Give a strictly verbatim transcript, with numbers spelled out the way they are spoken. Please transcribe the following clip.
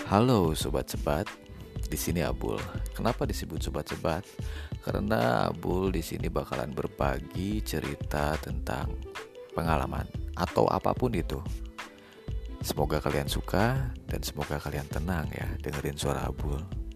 Halo sobat sebat, di sini Abul. Kenapa disebut sobat sebat? Karena Abul di sini bakalan berbagi cerita tentang pengalaman atau apapun itu. Semoga kalian suka dan semoga kalian tenang ya dengerin suara Abul.